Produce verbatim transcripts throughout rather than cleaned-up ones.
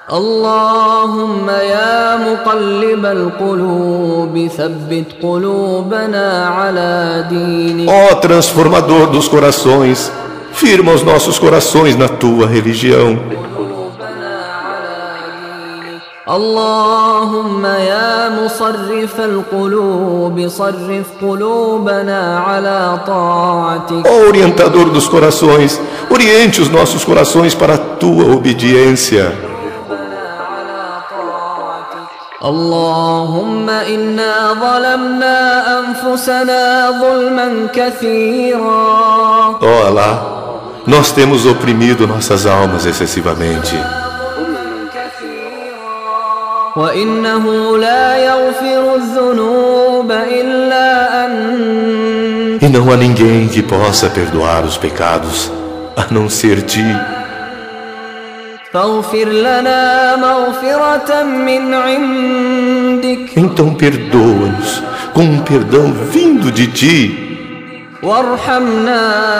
اللهم يا مقلب القلوب ثبت قلوبنا على دينك. Ó transformador dos corações, firma os nossos corações na tua religião. اللهم يا مصرف القلوب صرف قلوبنا على طاعتك. Ó orientador dos corações, oriente os nossos corações para a tua obediência. اللهم إنا ظلمنا أنفسنا ظلما كثيرا. Ó Allah, nós temos oprimido nossas almas excessivamente. وإنه لا يغفر الذنوب إلا أنت. E não há ninguém que possa perdoar os pecados a não ser ti. فاغفر لنا مغفرة من عندك. Então perdoa-nos com um perdão vindo de ti. وارحمنا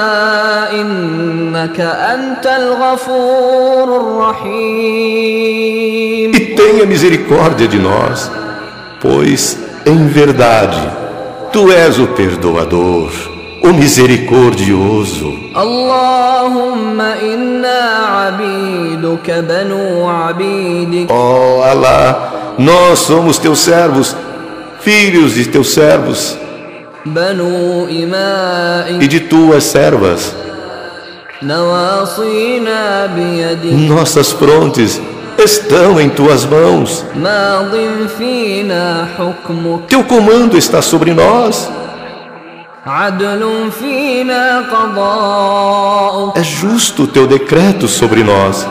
إنك أنت الغفور الرحيم. E tenha misericórdia de nós, pois, em verdade, tu és o perdoador, o misericordioso. اللهم إنا عبيدك بنو عبيدك. Ó Allah, nós somos teus servos, filhos de teus servos بنو e إمائك. de tuas servas. نواصينا بيدك. Nossas frontes estão em tuas mãos. ماض فينا حكمك. Teu comando está sobre nós. عدل فينا قضاؤك. É justo o teu decreto sobre nós.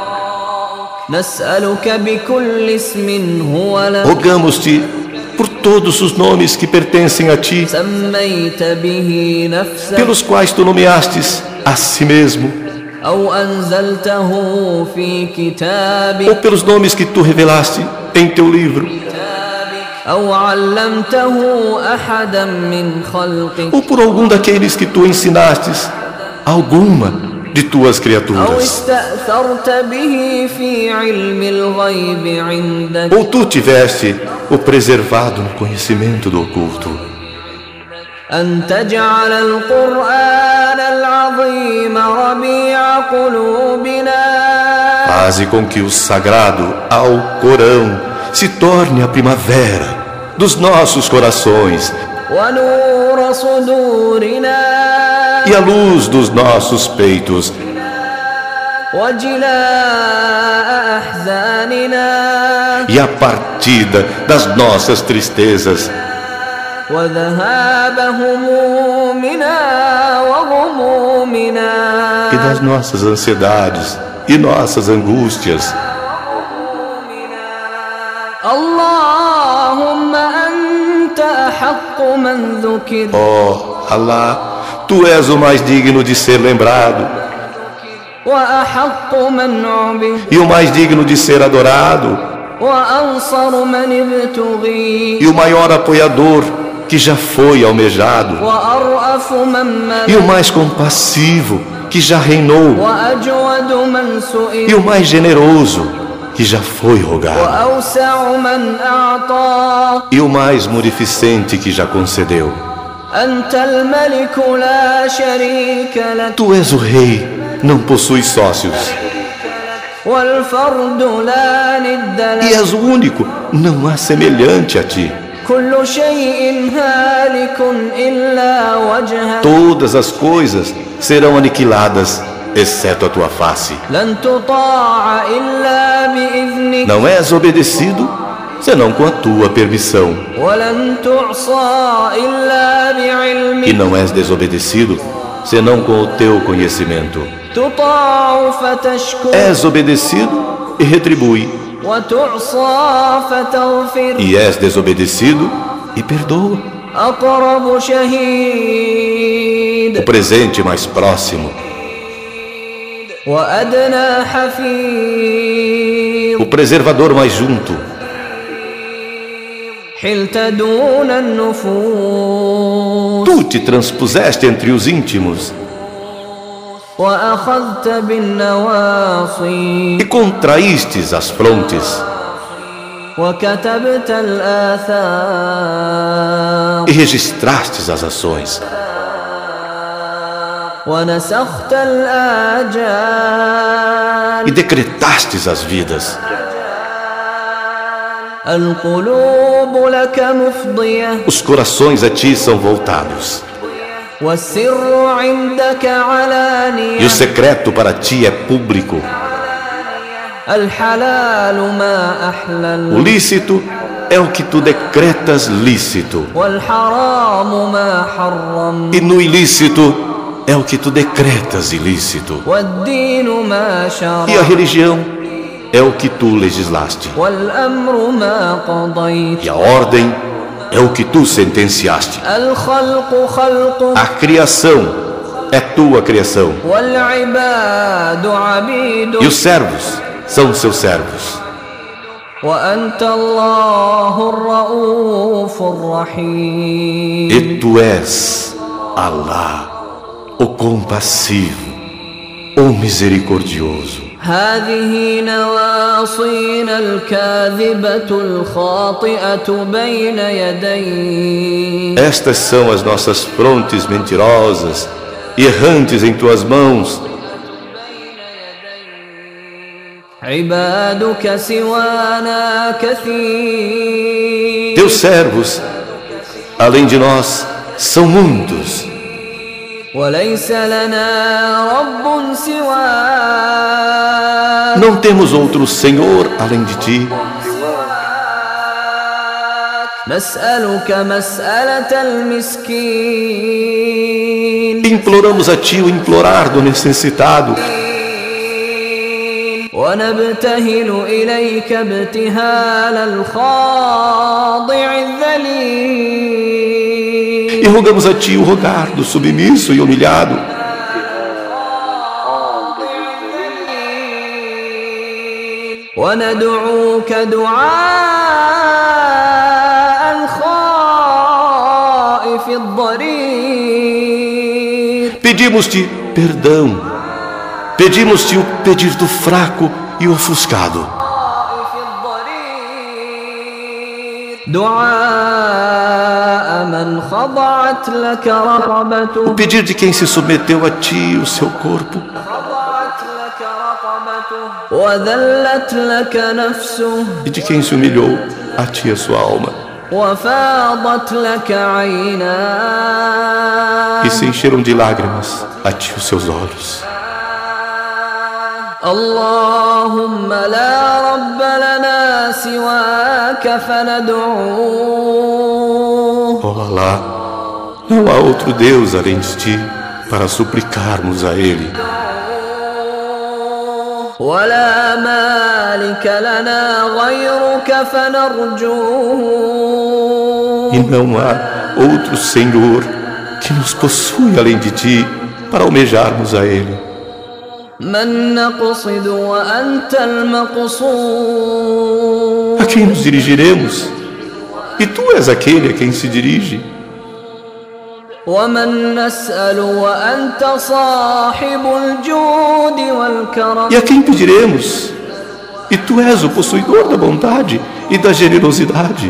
نسألك بكل اسم هو لك. Rogamos-te por todos os nomes que pertencem a ti, سميت به نفسك. pelos quais tu nomeastes a si mesmo, أو أنزلته في كتابك. ou pelos nomes que tu revelaste em teu livro, أو علمته أحدا من خلقك. ou por algum daqueles que tu ensinastes alguma de tuas أو criaturas, استأثرت به في علم الغيب عندك. ou tu tiveste o preservado no conhecimento do oculto. أن تجعل القرآن العظيم ربيع قلوبنا. Faze com que o sagrado Alcorão se torne a primavera dos nossos corações ونور صدورنا. e a luz dos nossos peitos, وجلاء أحزاننا. e a partida das nossas tristezas, وذهاب همومنا وغمومنا. e das nossas ansiedades e nossas angústias. اللهم أنت أحق من ذكر. Ó Allah, tu és o mais digno de ser lembrado وأحق من عبد. e o mais digno de ser adorado وأنصر من ابتغي. e o maior apoiador que já foi almejado وأرأف من e o ملك. mais compassivo que já reinou وأجود من سئل. e o mais generoso que já foi rogado وأوسع من أعطى. e o mais munificente que já concedeu. أنت الملك لا شريك لك. Tu és o rei, não possuis sócios, والفرد لا ند e لك. és o único, não há semelhante a ti. كل شيء هالك إلا وجهك. Todas as coisas serão aniquiladas, exceto a tua face. لن تطاع إلا بإذنك. Não és obedecido, senão com a tua permissão. ولن تعصى إلا E بعلمك. não és desobedecido, senão com o teu conhecimento. تطاع فتشكر. És obedecido e retribui, وتعصى فتغفر. e és desobedecido e perdoa. أقرب شهيد. O presente mais próximo, وأدنى حفيظ. o preservador mais junto. حلت دون النفوس. Tu te transpuseste entre os íntimos وأخذت بالنواصي e contraístes as frontes وكتبت الآثار e registrastes as ações ونسخت الآجال e decretastes as vidas. القلوب لك مفضية Os corações a ti são voltados والسر عندك e علانية o secreto para ti é público. الحلال ما O أحلل lícito é o que tu decretas lícito والحرام ما حرم e no ilícito é o que tu decretas ilícito. والدين ما E a شرع religião é o que tu legislaste. والأمر ما قضيت E a ordem é o que tu sentenciaste. الخلق خلق A criação é tua criação. والعباد E عبيد os servos são seus servos. وأنت الله الرؤوف الرحيم E tu és Allah, o compassivo, o misericordioso. هذه نواصينا الكاذبة الخاطئة بين يديك Estas são as nossas frontes mentirosas e errantes em tuas mãos. عبادك سوانا كثير Teus servos, além de nós, são muitos. وليس لنا رب سواك Não temos outro Senhor além de ti. نسألك مسألة المسكين Imploramos a ti o implorar do necessitado ونبتهل إليك ابتهال الخاضع الذليل e rogamos a ti o rogar do submisso e humilhado. وندعوك دعاء الخائف الضرير Pedimos-te perdão. Pedimos-te o pedir do fraco e ofuscado. دعاء من خضعت لك O رقبته pedir de quem se submeteu a ti o seu corpo خضعت لك رقبته وذلت لك نفسه e de quem se humilhou a ti a sua alma وفاضت لك عيناه e se encheram de lágrimas a ti os seus olhos. اللهم لا رب لنا سواك فندعوه Ó Allah, não há outro Deus além de ti para suplicarmos a Ele. ولا مالك لنا غيرك فنرجوه E não há outro Senhor que nos possui além de ti para almejarmos a Ele. من نقصد وأنت المقصود A quem nos dirigiremos? E tu és aquele a quem se dirige. ومن نسأل وأنت صاحب الجود والكرم E a quem pediremos? E tu és o possuidor da bondade e da generosidade.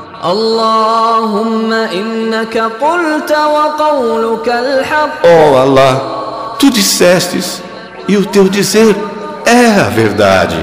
اللهم إنك قلت وقولك الحق Ó Allah, tu dissestes e o teu dizer é a verdade.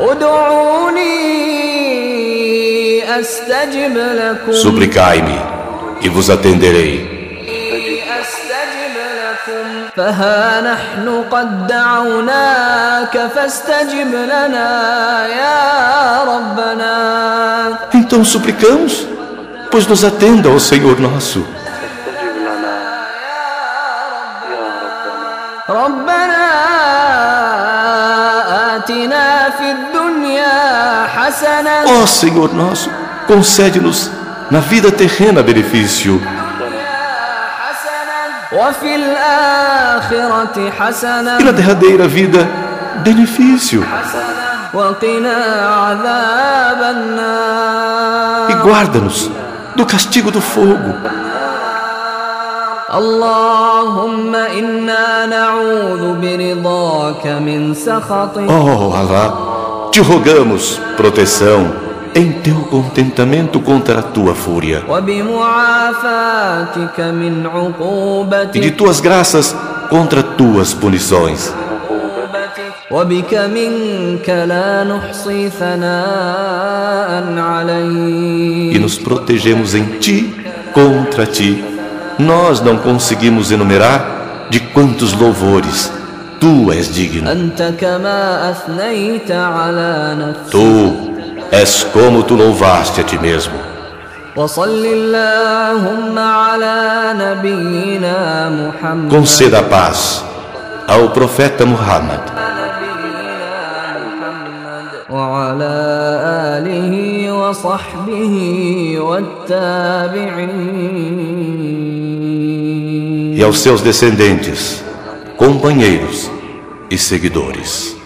ادعوني أستجب لكم Suplicai-me e vos atenderei. أستجب لكم فها نحن قد دعوناك فاستجب لنا يا ربنا Então suplicamos, pois nos atenda, ó Senhor nosso. ربنا آتنا في الدنيا حسنة Ó Senhor nosso, concede-nos na vida terrena benefício وفي الآخرة حسنة e na derradeira vida benefício. وقنا عذاب E النار guarda-nos do castigo do fogo. اللهم إنا نعوذ برضاك من سخطك Oh Alá, te rogamos proteção em teu contentamento contra a tua fúria وبمعافاتك من e de عقوبتك tuas graças contra tuas punições. وبك منك لا نحصي ثناء E عليك nos protegemos em ti contra ti. Nós não conseguimos enumerar de quantos louvores tu és digno. أنت كما أثنيت على نفسك Tu és como tu louvaste a ti mesmo. وصل اللهم على نبينا محمد Conceda a paz ao profeta Muhammad وعلى آله وصحبه والتابعين e aos seus descendentes, companheiros e seguidores.